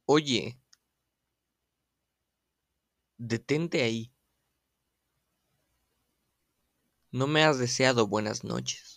Oye, detente ahí. No me has deseado buenas noches.